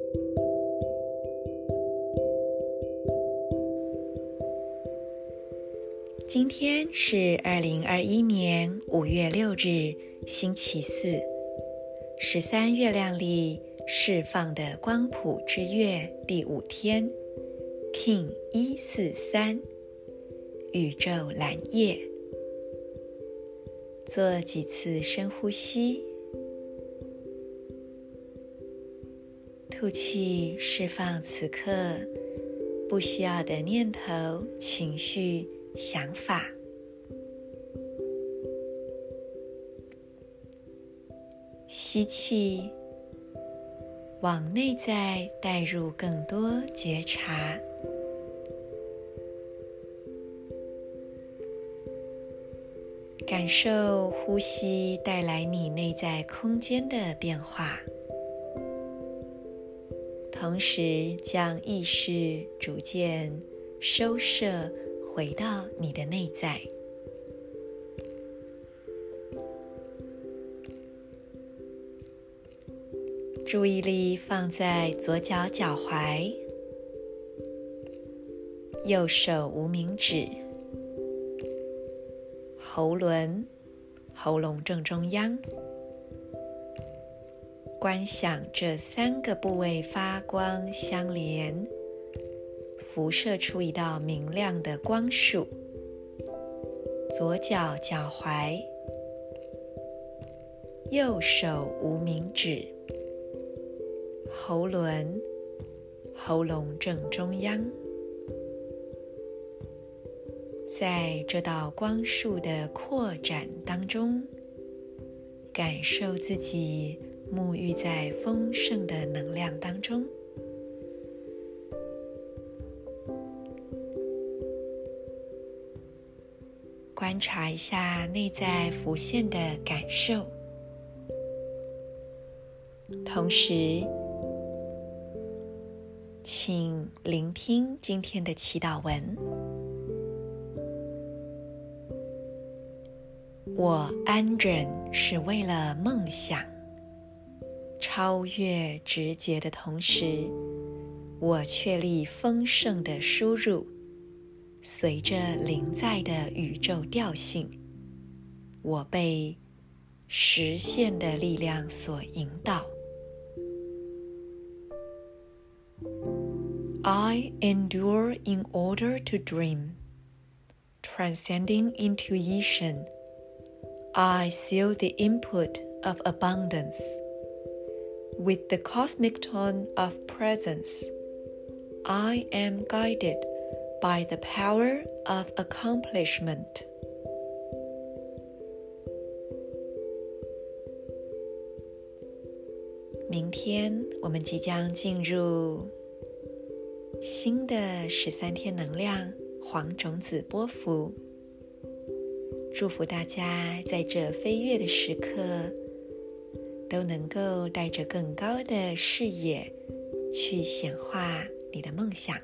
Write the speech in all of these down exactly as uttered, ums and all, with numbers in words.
今天是二零二一年五月六日，星期四，十三月亮历释放的光谱之月第五天 King 一四三宇宙蓝夜。做几次深呼吸，吐气，释放此刻不需要的念头、情绪、想法。吸气，往内在带入更多觉察。感受呼吸带来你内在空间的变化，同时将意识逐渐收摄回到你的内在。注意力放在左脚脚踝，右手无名指，喉轮，喉咙正中央。观想这三个部位发光相连，辐射出一道明亮的光束。左脚脚踝，右手无名指，喉轮，喉咙正中央。在这道光束的扩展当中，感受自己沐浴在丰盛的能量当中。观察一下内在浮现的感受，同时请聆听今天的祈祷文。我安忍是为了梦想，超越直觉的同时，我确立丰盛的输入，随着临在的宇宙调性，我被实现的力量所引导。I endure in order to dream, transcending intuition.I seal the input of abundance with the cosmic tone of presence. I am guided by the power of accomplishment. 明天我们即将进入新的十三天能量黄种子波符。祝福大家在这飞跃的时刻都能够带着更高的视野去显化你的梦想。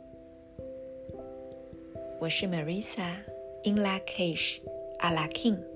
我是 Marisa In Lak'ech Ala K'in。